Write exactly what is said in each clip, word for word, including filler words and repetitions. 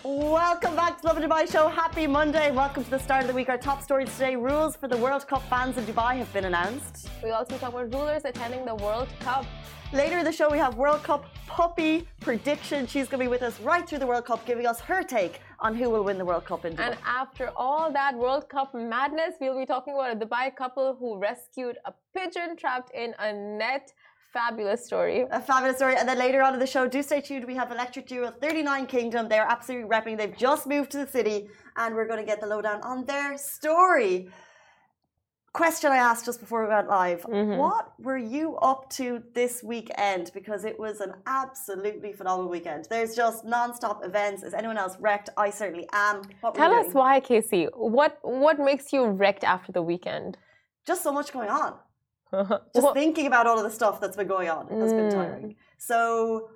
Welcome back to Lovin Dubai Show. Happy Monday. Welcome to the start of the week. Our top stories today. Rules for the World Cup fans in Dubai have been announced. We also talk about rulers attending the World Cup. Later in the show, we have World Cup puppy prediction. She's going to be with us right through the World Cup, giving us her take on who will win the World Cup in Dubai. And after all that World Cup madness, we'll be talking about a Dubai couple who rescued a pigeon trapped in a net. Fabulous story. A fabulous story. And then later on in the show, do stay tuned. We have Electric Duo thirty-nine Kingdom. They're absolutely repping. They've just moved to the city and we're going to get the lowdown on their story. Question I asked just before we went live. Mm-hmm. What were you up to this weekend? Because it was an absolutely phenomenal weekend. There's just non-stop events. Is anyone else wrecked? I certainly am. What Tell us why, Casey. What, what makes you wrecked after the weekend? Just so much going on. Just well, thinking about all of the stuff that's been going on has mm. been tiring. So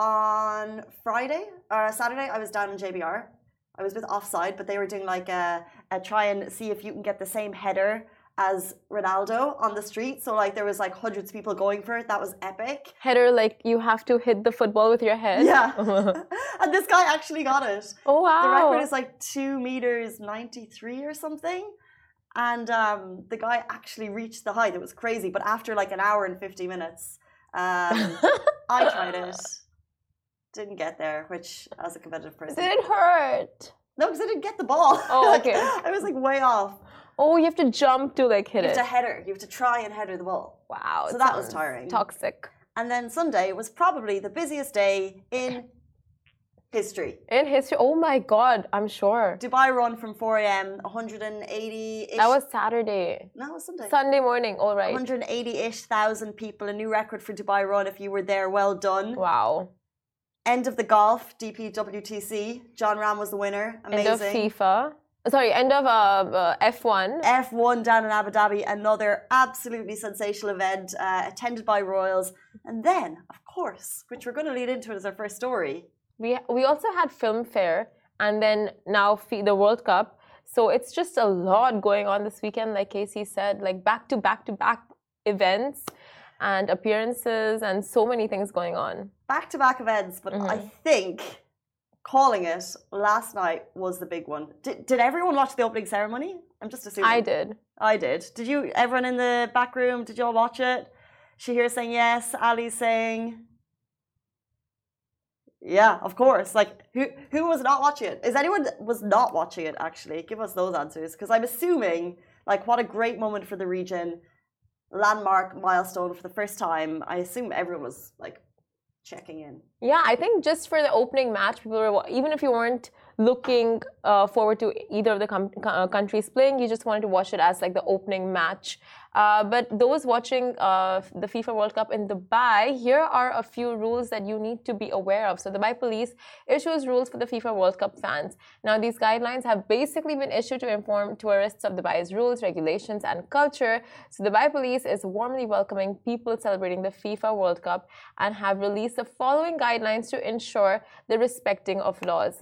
on Friday or Saturday, I was down in J B R. I was with Offside, but they were doing like a, a try and see if you can get the same header as Ronaldo on the street. So like there was like hundreds of people going for it. That was epic. Header, like you have to hit the football with your head. Yeah. And this guy actually got it. Oh wow. The record is like two meters ninety-three or something. And um, the guy actually reached the height. It was crazy. But after like an hour and fifty minutes, um, I tried it. Didn't get there, which as a competitive person. Did it hurt? No, because I didn't get the ball. Oh, like, okay. I was like way off. Oh, you have to jump to like hit it. You have it. to header. You have to try and header the ball. Wow. So that was tiring. Toxic. And then Sunday was probably the busiest day in history. In history? Oh my God, I'm sure. Dubai run from four A M, one hundred eighty-ish. That was Saturday. No, it was Sunday. Sunday morning, all right. one hundred eighty-ish thousand people, a new record for Dubai run. If you were there, well done. Wow. End of the golf, D P W T C. John Ram was the winner. Amazing. End of FIFA. Sorry, end of uh, uh, F one. F one down in Abu Dhabi. Another absolutely sensational event uh, attended by royals. And then, of course, which we're going to lead into as our first story, We we also had film fair and then now the World Cup. So it's just a lot going on this weekend, like Casey said, like back to back to back events and appearances and so many things going on. Back to back events, but mm-hmm. I think calling it last night was the big one. Did, did everyone watch the opening ceremony? I'm just assuming. I did. I did. Did you, everyone in the back room, did you all watch it? Shahir saying yes, Ali saying... Yeah, of course. Like, who who was not watching it? Is anyone that was not watching it, actually? Give us those answers. Because I'm assuming, like, what a great moment for the region. Landmark milestone for the first time. I assume everyone was, like, checking in. Yeah, I think just for the opening match, people were, even if you weren't looking uh, forward to either of the com- uh, countries playing, you just wanted to watch it as, like, the opening match. Uh, but those watching uh, the FIFA World Cup in Dubai, here are a few rules that you need to be aware of. So Dubai Police issues rules for the FIFA World Cup fans. Now, these guidelines have basically been issued to inform tourists of Dubai's rules, regulations, and culture. So Dubai Police is warmly welcoming people celebrating the FIFA World Cup and have released the following guidelines to ensure the respecting of laws.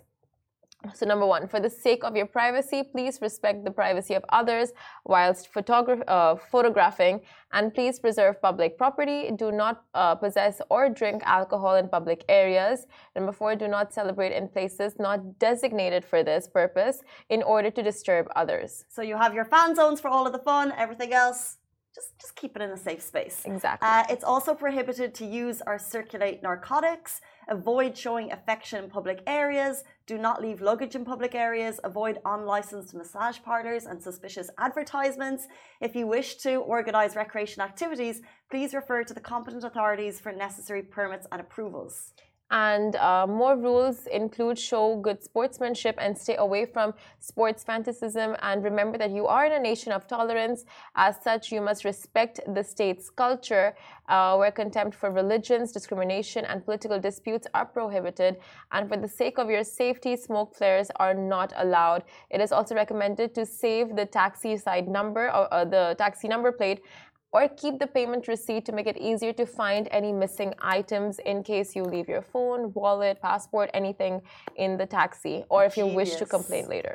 So number one, for the sake of your privacy, please respect the privacy of others whilst photogra- uh, photographing, and please preserve public property. Do not uh, possess or drink alcohol in public areas. Number four, do not celebrate in places not designated for this purpose in order to disturb others. So you have your fan zones for all of the fun, everything else. Just, just keep it in a safe space. Exactly. Uh, it's also prohibited to use or circulate narcotics. Avoid showing affection in public areas. Do not leave luggage in public areas. Avoid unlicensed massage parlors and suspicious advertisements. If you wish to organize recreation activities, please refer to the competent authorities for necessary permits and approvals. And uh, more rules include show good sportsmanship and stay away from sports fanaticism. And remember that you are in a nation of tolerance. As such, you must respect the state's culture, uh, where contempt for religions, discrimination, and political disputes are prohibited. And for the sake of your safety, smoke flares are not allowed. It is also recommended to save the taxi side number or uh, the taxi number plate, or keep the payment receipt to make it easier to find any missing items in case you leave your phone, wallet, passport, anything in the taxi, or if you Genius. wish to complain later.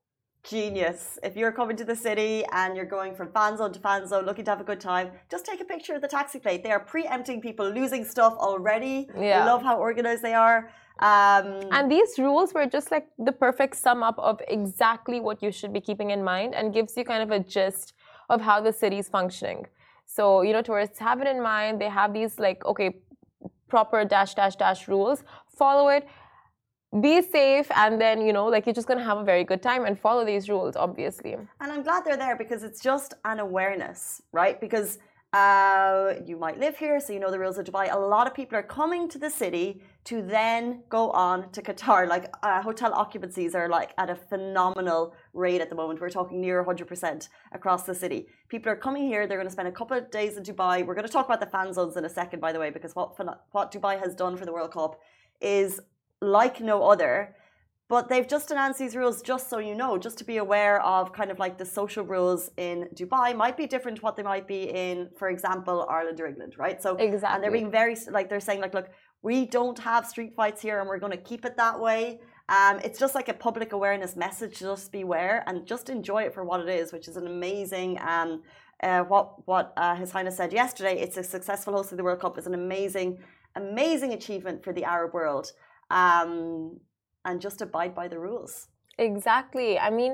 Genius. If you're coming to the city and you're going from fan zone to fan zone looking to have a good time, just take a picture of the taxi plate. They are preempting people losing stuff already. Yeah. I love how organized they are. Um, and these rules were just like the perfect sum up of exactly what you should be keeping in mind and gives you kind of a gist of how the city's functioning. So, you know, tourists have it in mind. They have these like, okay, proper dash, dash, dash rules. Follow it. Be safe. And then, you know, like you're just going to have a very good time and follow these rules, obviously. And I'm glad they're there because it's just an awareness, right? Because uh, you might live here, so you know the rules of Dubai. A lot of people are coming to the city to then go on to Qatar. Like uh, hotel occupancies are like at a phenomenal rate at the moment. We're talking near one hundred percent across the city. People are coming here. They're going to spend a couple of days in Dubai. We're going to talk about the fan zones in a second, by the way, because what what Dubai has done for the World Cup is like no other. But they've just announced these rules just so you know, just to be aware of kind of like the social rules in Dubai might be different to what they might be in, for example, Ireland or England, right? So exactly. And they're being very, like they're saying like, look, we don't have street fights here and we're going to keep it that way. Um, it's just like a public awareness message, just beware and just enjoy it for what it is, which is an amazing, um, uh, what, what uh, His Highness said yesterday, it's a successful host of the World Cup is an amazing, amazing achievement for the Arab world. Um, and just abide by the rules. Exactly. I mean,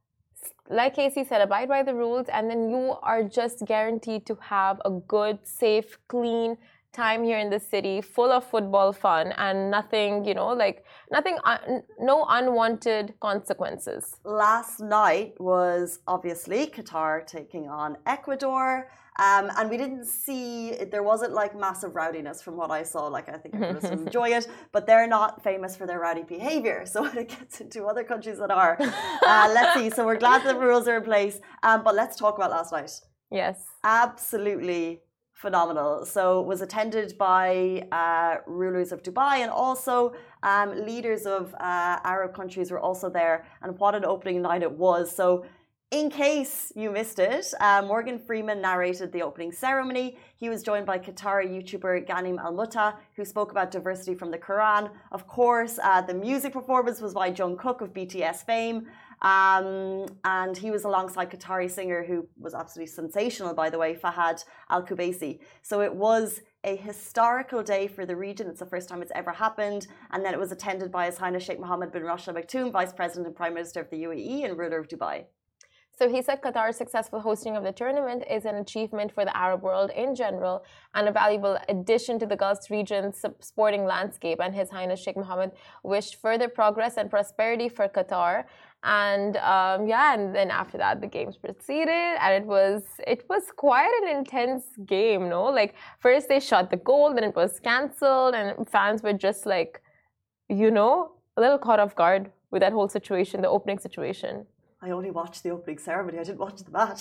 like Casey said, abide by the rules and then you are just guaranteed to have a good, safe, clean time here in the city, full of football fun and nothing, you know, like nothing, un- no unwanted consequences. Last night was obviously Qatar taking on Ecuador. Um, and we didn't see, there wasn't like massive rowdiness from what I saw. Like, I think everyone was enjoy it, but they're not famous for their rowdy behavior. So when it gets into other countries that are, uh, let's see. So we're glad the rules are in place. Um, but let's talk about last night. Yes. Absolutely phenomenal. So it was attended by uh, rulers of Dubai and also um, leaders of uh, Arab countries were also there. And what an opening night it was. So in case you missed it, uh, Morgan Freeman narrated the opening ceremony. He was joined by Qatari YouTuber Ghanem Al Mutta, who spoke about diversity from the Quran. Of course, uh, the music performance was by Jungkook of B T S fame. Um, and he was alongside Qatari singer who was absolutely sensational, by the way, Fahad Al Kubaisi. So it was a historical day for the region. It's the first time it's ever happened. And then it was attended by His Highness Sheikh Mohammed bin Rashid Al Maktoum, Vice President and Prime Minister of the U A E and ruler of Dubai. So he said Qatar's successful hosting of the tournament is an achievement for the Arab world in general and a valuable addition to the Gulf region's sporting landscape. And His Highness Sheikh Mohammed wished further progress and prosperity for Qatar. And um, yeah, and then after that, the games proceeded, and it was it was quite an intense game, no? Like first they shot the goal, then it was cancelled, and fans were just like, you know, a little caught off guard with that whole situation, the opening situation. I only watched the opening ceremony. I didn't watch the match.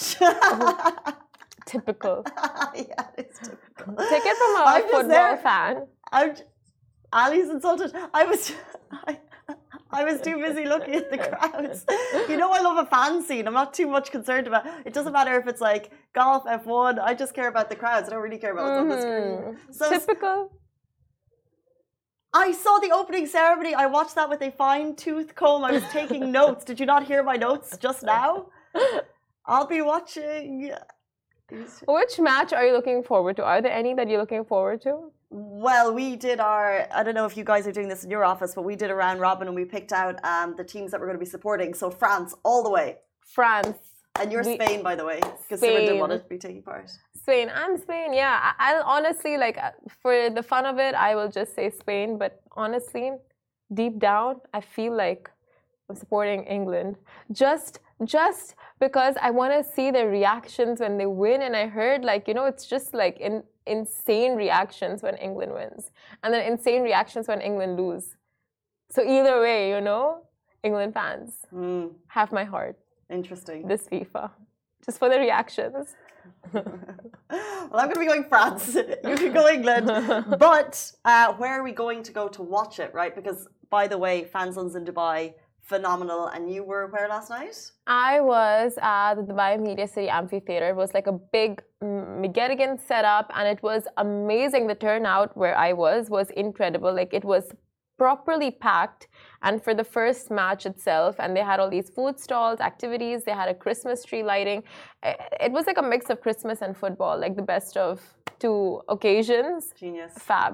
Oh, typical. Yeah, it's typical. Take it from a I'm football fan. I'm. Ali's insulted. I was. I, I was too busy looking at the crowds. You know, I love a fan scene. I'm not too much concerned about. It doesn't matter if it's like golf, F one. I just care about the crowds. I don't really care about what's mm-hmm. on the screen. So typical. I saw the opening ceremony. I watched that with a fine-tooth comb. I was taking notes. Did you not hear my notes just now? I'll be watching. Which match are you looking forward to? Are there any that you're looking forward to? Well, we did our, I don't know if you guys are doing this in your office, but we did a round robin and we picked out um, the teams that we're going to be supporting. So France, all the way. France. And you're we, Spain, by the way, because Simon didn't want to be taking part. Spain. I'm Spain, yeah. I, I'll honestly, like, for the fun of it, I will just say Spain. But honestly, deep down, I feel like I'm supporting England. Just, just because I want to see their reactions when they win. And I heard, like, you know, it's just like in, insane reactions when England wins. And then insane reactions when England lose. So either way, you know, England fans mm. have my heart. Interesting. This FIFA. Just for the reactions. Well, I'm going to be going France. You can go England. But uh, where are we going to go to watch it, right? Because, by the way, fan zones in Dubai, phenomenal. And you were where last night? I was at the Dubai Media City Amphitheater. It was like a big Megadigan setup, and it was amazing. The turnout where I was was incredible. Like, it was properly packed, and for the first match itself, and they had all these food stalls, activities, they had a Christmas tree lighting. It was like a mix of Christmas and football, like the best of two occasions. Genius. Fab.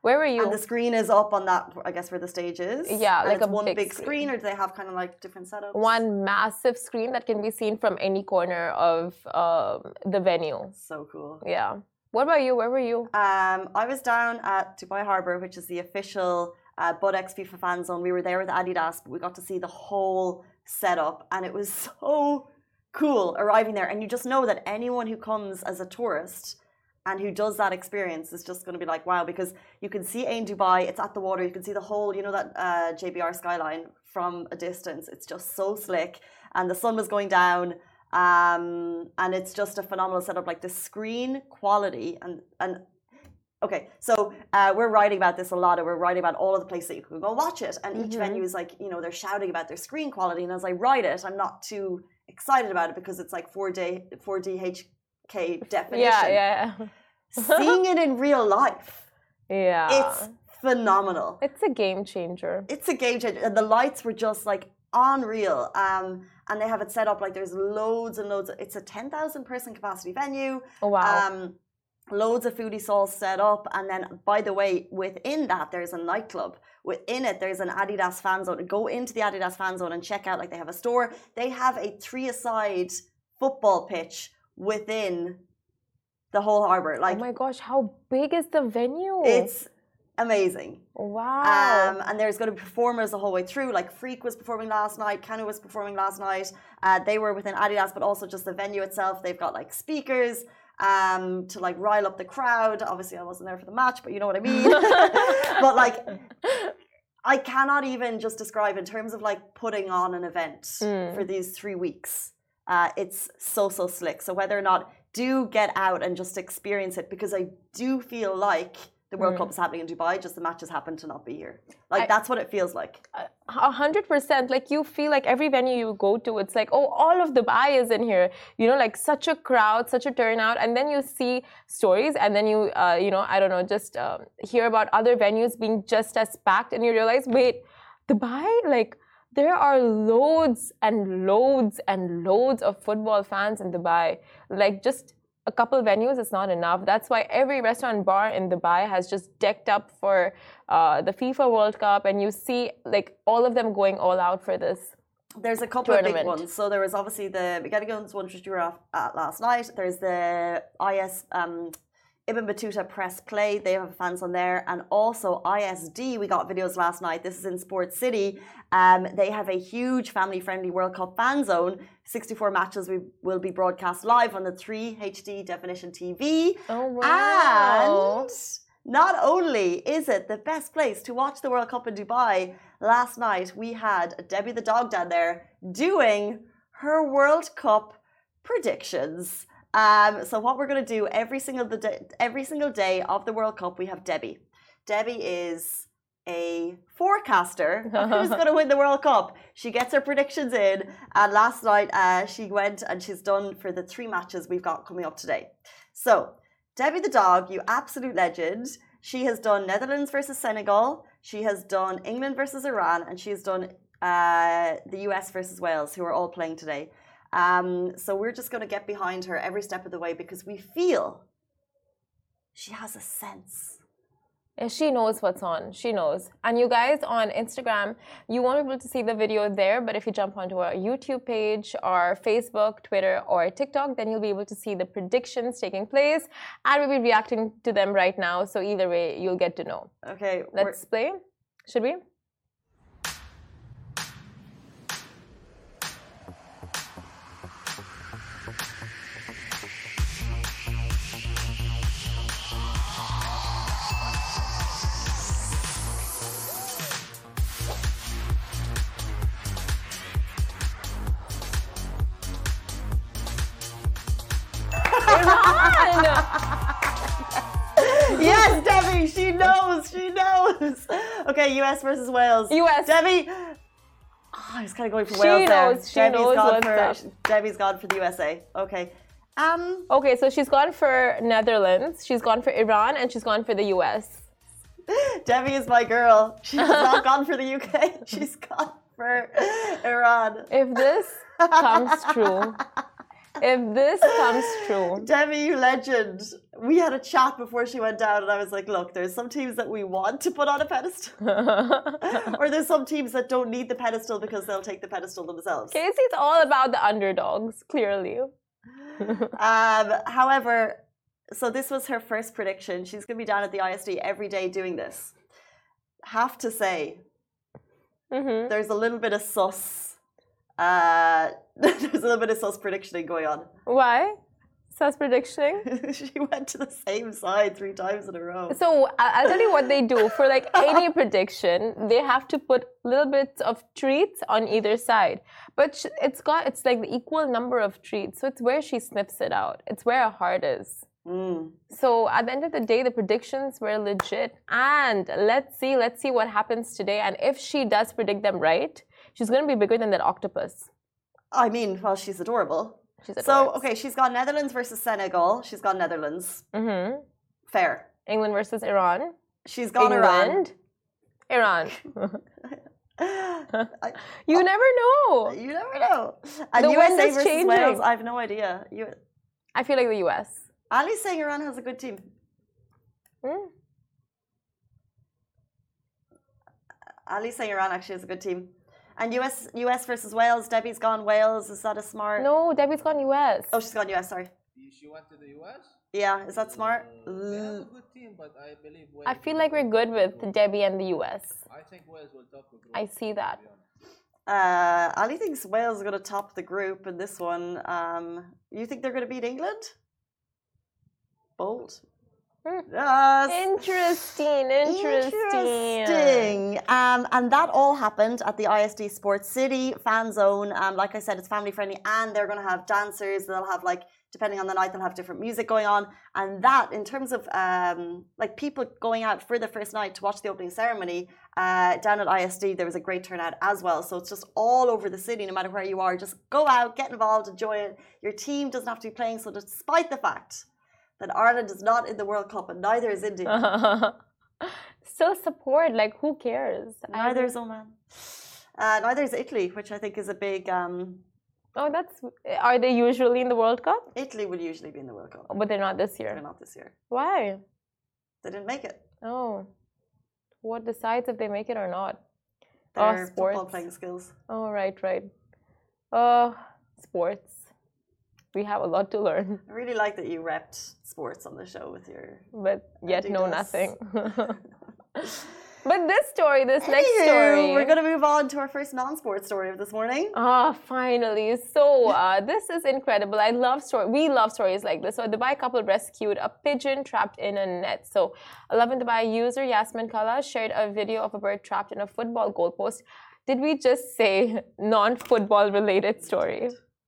Where were you? And the screen is up on that, I guess, where the stage is. Yeah, and like it's a one big, big screen. screen, or do they have kind of like different setups? One massive screen that can be seen from any corner of um, the venue. So cool. Yeah. What about you? Where were you? Um, I was down at Dubai Harbour, which is the official uh, Budex FIFA fan zone. We were there with Adidas, but we got to see the whole setup, and it was so cool arriving there. And you just know that anyone who comes as a tourist and who does that experience is just going to be like, wow, because you can see Ain Dubai, it's at the water, you can see the whole, you know, that uh, J B R skyline from a distance. It's just so slick, and the sun was going down, um, and it's just a phenomenal setup. Like the screen quality, and and okay, so uh, we're writing about this a lot, and we're writing about all of the places that you can go watch it, and each Mhm. venue is like, you know, they're shouting about their screen quality, and as I write it, I'm not too excited about it because it's like four D four D H K definition. Yeah, yeah. Seeing it in real life, Yeah. it's phenomenal. It's a game changer. It's a game changer. And the lights were just like unreal. Um, and they have it set up like there's loads and loads. Of, it's a ten thousand person capacity venue. Oh, wow. Um, loads of foodie stalls set up. And then, by the way, within that, there's a nightclub. Within it, there's an Adidas fan zone. Go into the Adidas fan zone and check out, like they have a store. They have a three-a-side football pitch within the whole harbour. Like, oh my gosh, how big is the venue? it's amazing. Wow. Um, and there's going to be performers the whole way through. Like Freak was performing last night, Kanu was performing last night. Uh, they were within Adidas, but also just the venue itself. They've got like speakers um, to like rile up the crowd. Obviously, I wasn't there for the match, but you know what I mean. But like, I cannot even just describe in terms of like putting on an event Mm. for these three weeks. Uh, it's so, so slick. So whether or not, do get out and just experience it, because I do feel like the World Mm. Cup is happening in Dubai, just the matches happen to not be here. Like, I- that's what it feels like. A hundred percent. Like you feel like every venue you go to, it's like, oh, all of Dubai is in here. You know, like such a crowd, such a turnout, and then you see stories, and then you, uh, you know, I don't know, just um, hear about other venues being just as packed, and you realize, wait, Dubai, like there are loads and loads and loads of football fans in Dubai. Like just a couple venues is not enough. That's why every restaurant bar in Dubai has just decked up for uh, the FIFA World Cup, and you see like all of them going all out for this. There's a couple of big Tournament. ones. So there was obviously the Bugatti Guns one, which you were off at last night. There's the I S um, Ibn Battuta Press Play. They have fans on there. And also I S D, we got videos last night. This is in Sports City. Um, they have a huge family-friendly World Cup fan zone. sixty-four matches we will be broadcast live on the three H D definition T V. Oh wow! And not only is it the best place to watch the World Cup in Dubai, last night we had Debbie the dog down there doing her World Cup predictions. Um, so what we're going to do every single the day, every single day of the World Cup, we have Debbie. Debbie is a forecaster of who's going to win the World Cup. She gets her predictions in, and last night uh, she went and she's done for the three matches we've got coming up today. So, Debbie the dog, you absolute legend. She has done Netherlands versus Senegal. She has done England versus Iran, and she has done uh, the U S versus Wales, who are all playing today. Um, so we're just going to get behind her every step of the way because we feel she has a sense. And she knows what's on. She knows. And you guys on Instagram, you won't be able to see the video there, but if you jump onto our YouTube page, our Facebook, Twitter, or TikTok, then you'll be able to see the predictions taking place, and we'll be reacting to them right now. So either way, you'll get to know. Okay. Let's play. Should we? Yes, Debbie, she knows, she knows. Okay, U S versus Wales. U S. Debbie. Oh, I was kind of going for She Wales there. knows, she Debbie's knows gone what's for up. Debbie's gone for the U S A. Okay. Um. Okay, so she's gone for Netherlands, she's gone for Iran, and she's gone for the U S. Debbie is my girl. She's not gone for the U K. She's gone for Iran. If this comes true, if this comes true. Debbie, you legend. We had a chat before she went down, and I was like, look, there's some teams that we want to put on a pedestal. Or there's some teams that don't need the pedestal because they'll take the pedestal themselves. Casey's all about the underdogs, clearly. um, however, so this was her first prediction. She's going to be down at the I S D every day doing this. Have to say, Mm-hmm. there's a little bit of sus. Uh, there's a little bit of sus predictioning going on. Why? Sus predictioning? She went to the same side three times in a row. So I- I'll tell you what they do. For like any prediction, they have to put little bits of treats on either side. But sh- it's got, it's like the equal number of treats. So it's where she sniffs it out. It's where her heart is. Mm. So at the end of the day, the predictions were legit. And let's see, let's see what happens today. And if she does predict them right, she's going to be bigger than that octopus. I mean, well, she's adorable. She's So, adorable. okay, she's got Netherlands versus Senegal. She's got Netherlands. Mm-hmm. Fair. England versus Iran. She's got Iran. England. Iran. I, You never know. you never know. And The U S wind A is versus changing. Wales, I have no idea. You, I feel like the U S. Ali's saying Iran has a good team. Hmm? Ali's saying Iran actually has a good team. And U S U S versus Wales. Debbie's gone Wales. Is that a smart? No, Debbie's gone U S. Oh, she's gone U S. Sorry. She went to the U S? Yeah, is that smart? Uh, they have a good team, but I believe Wales. I feel like we're good with Debbie and the U S. I think Wales will top the group. I see that. to be honest. Uh, Ali thinks Wales is going to top the group in this one. Um, you think they're going to beat England? Bold. Hmm. Yes. Interesting, interesting. Interesting. Um, and that all happened at the I S D Sports City fan zone. Um, like I said, it's family friendly, and they're going to have dancers. They'll have like, depending on the night, they'll have different music going on. And that, in terms of um, like people going out for the first night to watch the opening ceremony, uh, down at I S D, there was a great turnout as well. So it's just all over the city, no matter where you are. Just go out, get involved, enjoy it. Your team doesn't have to be playing. So despite the fact that Ireland is not in the World Cup and neither is India. Still support, like who cares? Neither I- is Oman. Uh, neither is Italy, which I think is a big. Um, Oh, that's. Are they usually in the World Cup? Italy would usually be in the World Cup. But they're not this They're year. not this year. Why? They didn't make it. Oh. What decides if they make it or not? Their Oh, football sports. playing skills. Oh, right, right. Uh, sports. We have a lot to learn, I really like that you repped sports on the show with your. but yet know Adidas. nothing. But this story, this next Anywho, story. We're going to move on to our first non-sports story of this morning. Ah, finally. So, uh, this is incredible. I love story. We love stories like this. So, a Dubai couple rescued a pigeon trapped in a net. So, eleven Dubai user Yasmin Kala shared a video of a bird trapped in a football goalpost. Did we just say non-football related story?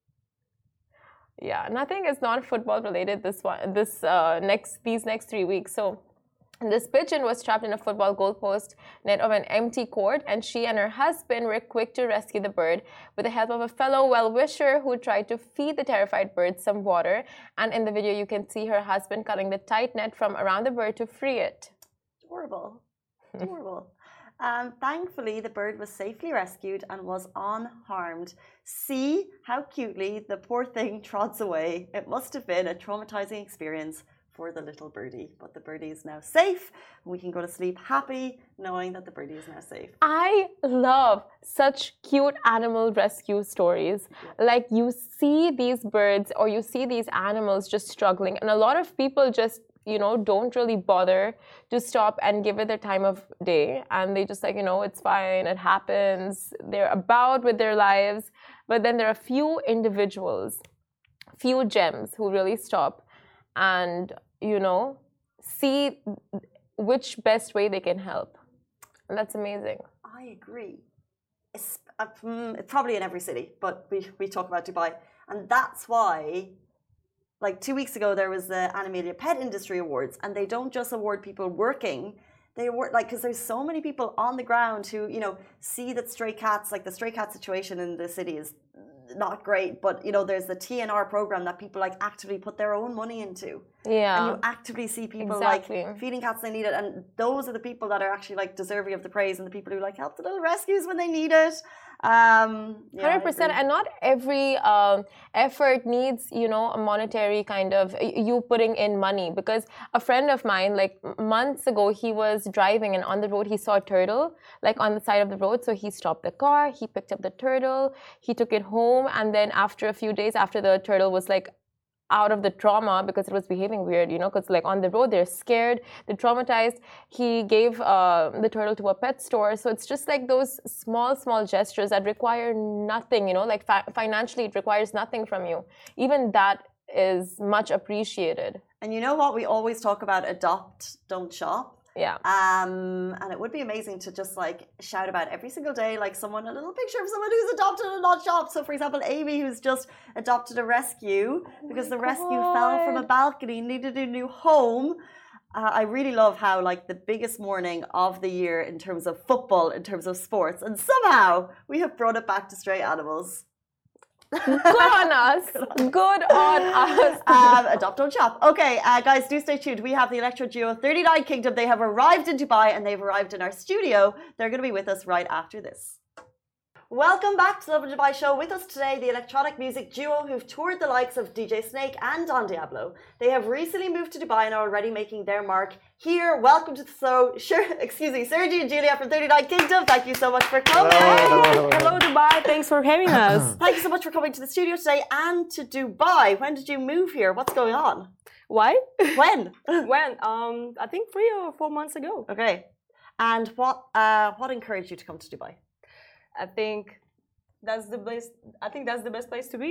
Yeah, nothing is non-football related this one. This uh, next these next three weeks. So. This pigeon was trapped in a football goalpost net of an empty court, and she and her husband were quick to rescue the bird with the help of a fellow well-wisher who tried to feed the terrified bird some water. And in the video, you can see her husband cutting the tight net from around the bird to free it. Adorable. Adorable. Um, thankfully, the bird was safely rescued and was unharmed. See how cutely the poor thing trots away. It must have been a traumatizing experience for the little birdie, but the birdie is now safe. We can go to sleep happy knowing that the birdie is now safe. I love such cute animal rescue stories. Like you see these birds or you see these animals just struggling, and a lot of people just, you know, don't really bother to stop and give it their time of day, and they just like, you know, it's fine, it happens, they're about with their lives. But then there are few individuals, few gems who really stop and, you know, see which best way they can help. And that's amazing. I agree. It's, uh, mm, it's probably in every city, but we, we talk about Dubai. And that's why, like two weeks ago, there was the Animalia Pet Industry Awards, and they don't just award people working. They award, like, because there's so many people on the ground who, you know, see that stray cats, like the stray cat situation in the city is not great, but, you know, there's the T N R program that people like actively put their own money into. Yeah. And you actively see people Exactly. like feeding cats they need it, and those are the people that are actually like deserving of the praise, and the people who like help the little rescues when they need it. Um, yeah, Hundred percent, and not every um, effort needs, you know, a monetary kind of you putting in money. Because a friend of mine, like months ago, he was driving and on the road he saw a turtle, like on the side of the road. So he stopped the car, he picked up the turtle, he took it home, and then after a few days, after the turtle was like out of the trauma because it was behaving weird, you know, because like on the road they're scared, they're traumatized. He gave uh, the turtle to a pet store. So it's just like those small, small gestures that require nothing, you know, like fi- financially it requires nothing from you. Even that is much appreciated. And you know what? We always talk about adopt, don't shop. Yeah. Um, and it would be amazing to just like shout about every single day, like someone, a little picture of someone who's adopted and not shopped. So, for example, Amy, who's just adopted a rescue because the rescue fell from a balcony, needed a new home. Uh, I really love how, like, the biggest morning of the year in terms of football, in terms of sports, and somehow we have brought it back to stray animals. Good on us. Good on us. um, adopt, don't shop. Okay, uh, guys, do stay tuned. We have the Electro Duo thirty-nine Kingdom. They have arrived in Dubai and they've arrived in our studio. They're going to be with us right after this. Welcome back to the Love in Dubai show. With us today, the electronic music duo who've toured the likes of D J Snake and Don Diablo. They have recently moved to Dubai and are already making their mark here. Welcome to the show. Sure, excuse me, Sergi and Julia from thirty-nine Kingdom. Thank you so much for coming. Hello, hello, hello. Hello, Dubai. Thanks for having us. Thank you so much for coming to the studio today and to Dubai. When did you move here? What's going on? Why? When? When? Um, I think three or four months ago. Okay. And what uh, what encouraged you to come to Dubai? I think that's the best. I think that's the best place to be.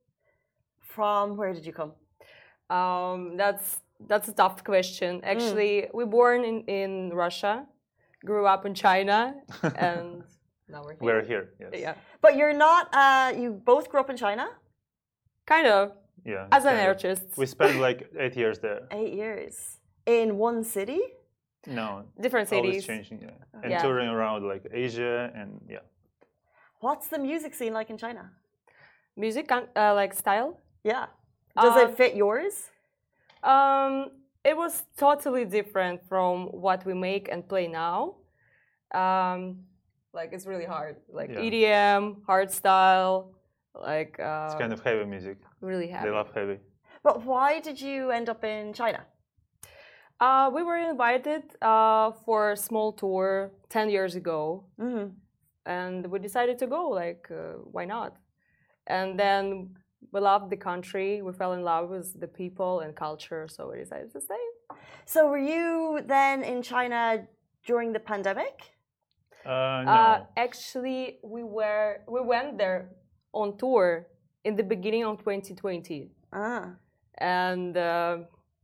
From where did you come? Um, that's that's a tough question. Actually, mm. we born in in Russia, grew up in China, and now we're here. We're here. Yes. Yeah. But you're not. Uh, you both grew up in China. Kind of. Yeah. As an artist. We spent like eight years there. Eight years in one city. No. Different cities. Always changing. Yeah. And yeah. touring around like Asia and yeah. What's the music scene like in China? Music, uh, like style? Yeah. Does uh, it fit yours? Um, it was totally different from what we make and play now. Um, like it's really hard. Like yeah. E D M, hard style, like. Uh, it's kind of heavy music. Really heavy. They love heavy. But why did you end up in China? Uh, we were invited uh, for a small tour ten years ago. Mm-hmm. And we decided to go, like, uh, why not? And then we loved the country, we fell in love with the people and culture, so we decided to stay. So were you then in China during the pandemic? Uh, no. Uh, actually, we were we went there on tour in the beginning of twenty twenty. Ah. And uh,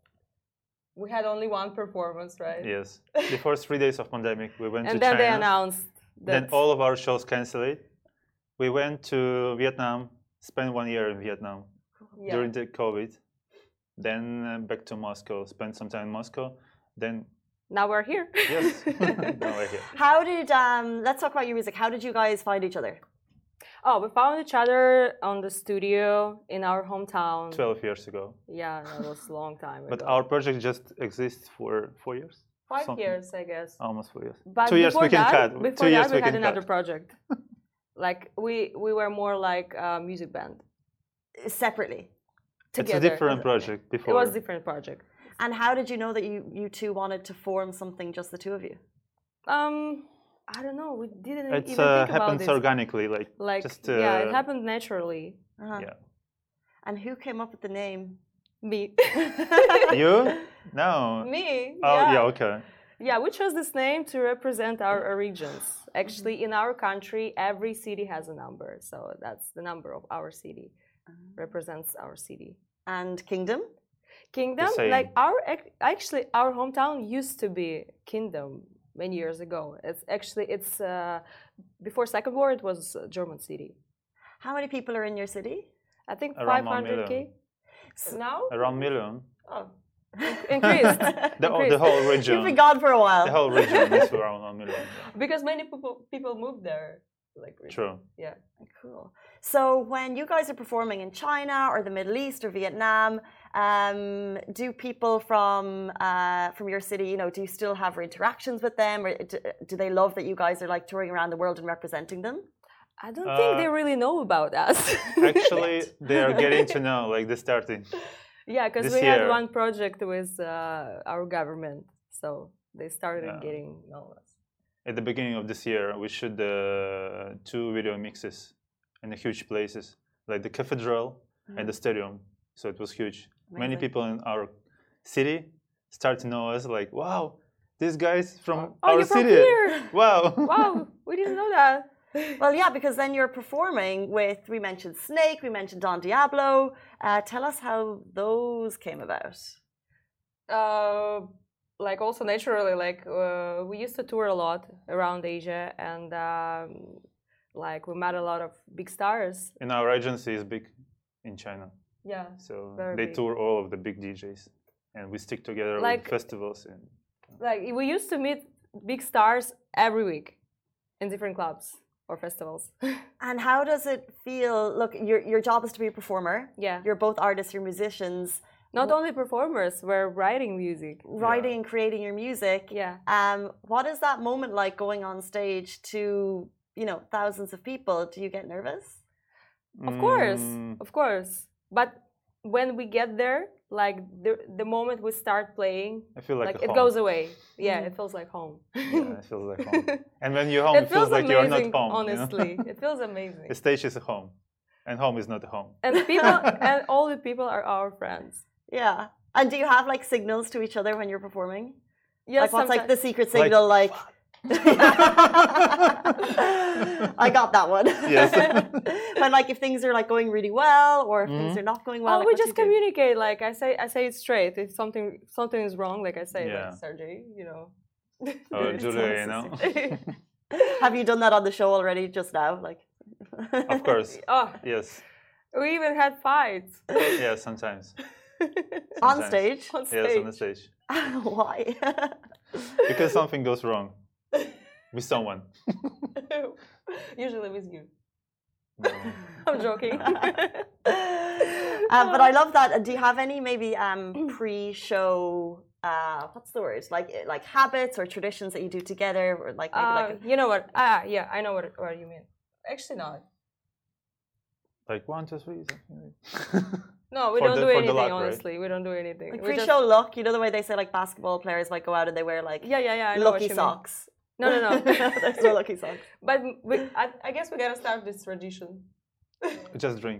we had only one performance, right? Yes. The first three days of pandemic, we went and to then China. they announced that Then all of our shows canceled. We went to Vietnam, spent one year in Vietnam yeah. during the COVID. Then uh, back to Moscow, spent some time in Moscow. Then now we're here. Yes, now we're here. How did um? Let's talk about your music. How did you guys find each other? Oh, we found each other on the studio in our hometown. Twelve years ago. Yeah, that was a long time ago. But our project just exists for four years. Five Something. years, I guess. Almost four years. But Two years we can that, cut. Before Two that, years we, we had can another cut. project. Like we we were more like a music band. Separately. Together. It's a different project before. It was a different project. And how did you know that you you two wanted to form something, just the two of you? Um, I don't know. We didn't It's even uh, think about happens this. organically, like, Like just uh, yeah, it happened naturally. Uh-huh. Yeah. And who came up with the name? Me. You? No. Me. Oh yeah. yeah, okay. Yeah, we chose this name to represent our regions. Actually, in our country, every city has a number. So that's the number of our city, represents our city. And Kingdom? Kingdom, same. like our actually our hometown used to be Kingdom many years ago. It's actually it's uh, before Second War. It was a German city. How many people are in your city? I think Around five one hundred k. million. Now Around million. oh, increased. The, oh, the whole region. You've been gone for a while. The whole region is around one million. Yeah. Because many people people moved there. like really. True. Yeah. Cool. So when you guys are performing in China or the Middle East or Vietnam, um, do people from uh, from your city, you know, do you still have interactions with them, or do, do they love that you guys are like touring around the world and representing them? I don't think Uh, they really know about us. Actually, they are getting to know, like they're starting. Yeah, because this we had year. one project with uh, our government, so they started Yeah. getting know us. At the beginning of this year, we shot uh, two video mixes in the huge places, like the cathedral and the stadium. So it was huge. Many Amazing. people in our city start to know us, like, wow, these guys from Oh, our you're from city. here! Wow. Wow, we didn't know that. Well, yeah, because then you're performing with, we mentioned Snake, we mentioned Don Diablo. Uh, tell us how those came about. Uh, like also naturally, like uh, we used to tour a lot around Asia, and um, like we met a lot of big stars. And our agency is big in China. Yeah. So Very they big. tour all of the big D Js. And we stick together Like- with festivals. And Like we used to meet big stars every week in different clubs or festivals. And how does it feel? Look, your, your job is to be a performer. Yeah. You're both artists, you're musicians, Not only performers, we're writing music. writing and creating your music. Yeah. Um, what is that moment like going on stage to, you know, thousands of people? Do you get nervous? Of course, Mm, of course. But when we get there, like the the moment we start playing, I feel like, like, a it home. goes away. Yeah, Mm. it feels like home. Yeah, it feels like home. And when you're home, it, it feels like amazing, you're not home. you know? honestly. It feels amazing. The stage is a home, and home is not a home. And people and all the people are our friends. Yeah. And do you have like signals to each other when you're performing? Yes, Like what's like the sometimes- secret signal? Like, I got that one. Yes. When like if things are like going really well, or if things Mhm. are not going well. Oh, like, we what do just you do? communicate. Like I say, I say it straight. If something something is wrong, like I say, Yeah. like Sergey, you know. Or It's Julia, so you know. Have you done that on the show already? Just now, like. Of course. Oh, Yes. we even had fights Yeah. Sometimes. On Sometimes. stage. on Yes, stage. on the stage. Why? Because something goes wrong with someone. Usually with you. No. I'm joking. uh, but I love that. Do you have any maybe um, pre-show? Uh, what's the word? Like like habits or traditions that you do together, or like maybe Uh, like. you know what? Ah, yeah, I know what what you mean. Actually, not. Like one, two, three. Something like. No, we For don't the- do for the anything. luck, right? Honestly, we don't do anything. Like We just- pre-show look, you know the way they say like basketball players might go out and they wear like Yeah, yeah, yeah. I know what lucky you mean. socks. No, no, no. There's no lucky socks. But we, I, I guess we gotta start this tradition. Just drink.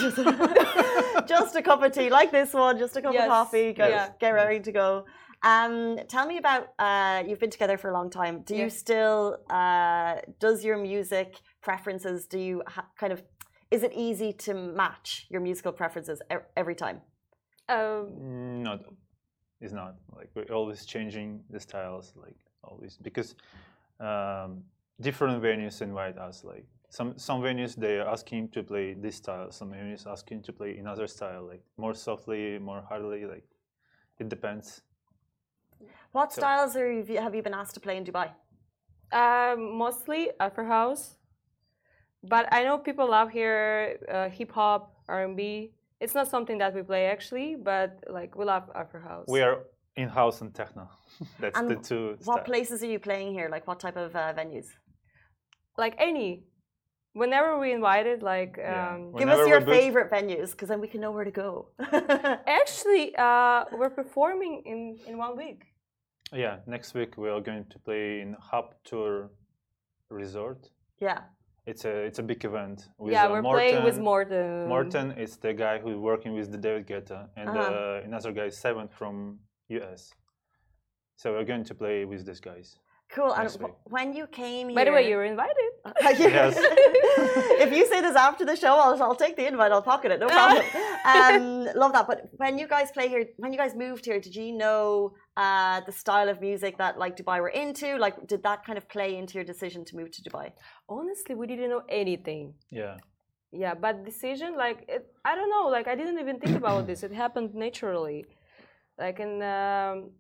Just a cup of tea, like this one, just a cup Yes, of coffee, go, yeah. get ready to go. Um, tell me about, uh, you've been together for a long time. Do you Yes. still, uh, does your music preferences, do you ha- kind of, is it easy to match your musical preferences e- every time? Um, Mm, No, it's not. Like we're always changing the styles, like always, because um, different venues invite us. Like some some venues they are asking to play this style, some venues asking to play another style, like more softly, more hardly. Like it depends. What So- styles are you, have you been asked to play in Dubai? uh, mostly Afro House, but I know people love here uh, hip hop, R and B. It's not something that we play actually, but like we love Afro House. We are in house and techno. That's And the two. What styles. places are you playing here? Like what type of uh, venues? like any. Whenever we invited, like Yeah. um, Give Whenever us your we're booked- favorite venues, because then we can know where to go. actually, uh, we're performing in in one week. Yeah, next week we are going to play in Hub Tour Resort. Yeah. It's a it's a big event. With, yeah, uh, we're Morten. playing with Morten. Morten is the guy who's working with the David Guetta, and Uh-huh. uh, another guy, Seven from U S. So we're going to play with these guys. Cool. And Next week. wh- when you came here. By the way, you're invited. Yes. If you say this after the show, I'll, I'll take the invite. I'll pocket it. No problem. um, love that. But when you guys play here, when you guys moved here, did you know uh, the style of music that like Dubai were into? Like, did that kind of play into your decision to move to Dubai? Honestly, we didn't know anything. Yeah. Yeah, but decision like it, I don't know. Like I didn't even think about this. It happened naturally. Like in um,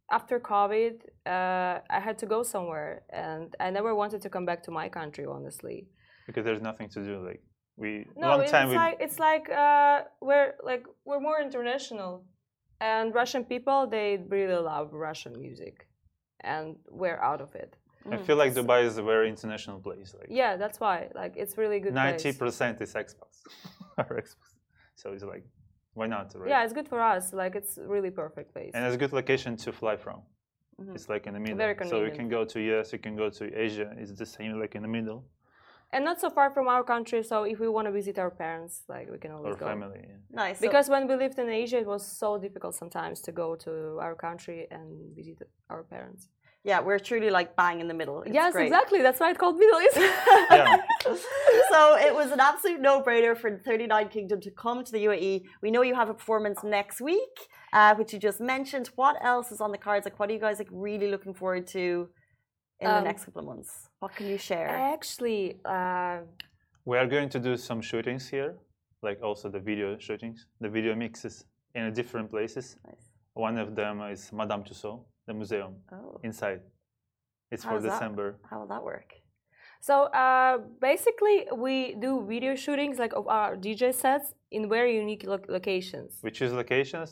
after COVID, uh, I had to go somewhere, and I never wanted to come back to my country, honestly. Because there's nothing to do. Like we No, long it's time we like it's like uh, we're like we're more international, and Russian people they really love Russian music, and we're out of it. I feel like Dubai is a very international place. Like Yeah, that's why. Like it's really good. ninety place. percent is expats, are expats. So it's like, why not? Right? Yeah, it's good for us. Like it's really perfect place. And it's a good location to fly from. Mhm. It's like in the middle. Very So you convenient. can go to U S, you can go to Asia. It's the same, like in the middle. And not so far from our country, so if we want to visit our parents, like we can always Or go. family. Yeah. Nice. So- Because when we lived in Asia, it was so difficult sometimes to go to our country and visit our parents. yeah, we're truly like bang in the middle. It's yes, great. exactly. That's why it's called Middle East. Yeah. So it was an absolute no-brainer for thirty-nine Kingdom to come to the U A E. We know you have a performance next week, uh, which you just mentioned. What else is on the cards? Like, what are you guys like really looking forward to in the Um, next couple of months? What can you share? Actually, uh, We are going to do some shootings here, like also the video shootings, the video mixes in different places. Nice. One of them is Madame Tussauds, the museum Oh, inside. It's How for does that- December. how will that work? so uh, basically, we do video shootings like of our D J sets in very unique lo- locations. We choose locations,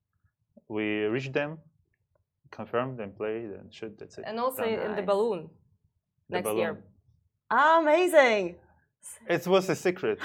we reach them, confirm, then play, then shoot. That's it. And also Done. in the Nice. balloon The next balloon. year. Amazing. It was a secret.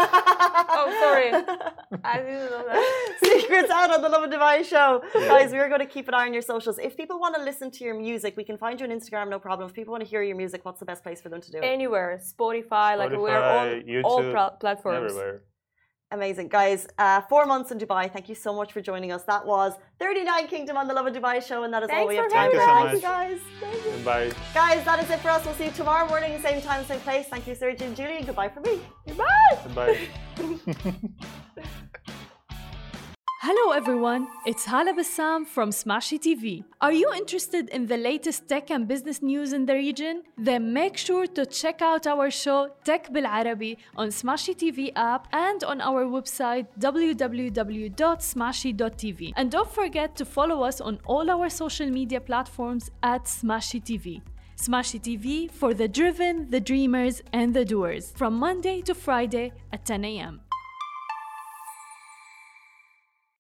Oh, sorry. I didn't know that. Secrets out on the Love and Dubai show. Yeah. Guys, we're going to keep an eye on your socials. If people want to listen to your music, we can find you on Instagram, no problem. If people want to hear your music, what's the best place for them to do it? Anywhere, Spotify, like we're on Spotify, all YouTube, pla- platforms. Everywhere. Amazing. Guys, uh, four months in Dubai. Thank you so much for joining us. That was thirty-nine Kingdom on the Love and Dubai show, and that is all Thanks we have for time having for. us. Thank you, Thank guys. Thank you. Goodbye. Guys, that is it for us. We'll see you tomorrow morning, same time, same place. Thank you, Serge and Julie. Goodbye from me. Goodbye. Goodbye. Hello everyone, it's Hala Bassam from Smashy T V. Are you interested in the latest tech and business news in the region? Then make sure to check out our show Tech Bil Arabi on Smashy T V app and on our website w w w dot smashy dot t v. And don't forget to follow us on all our social media platforms at Smashy T V. Smashy T V for the driven, the dreamers, and the doers from Monday to Friday at ten a m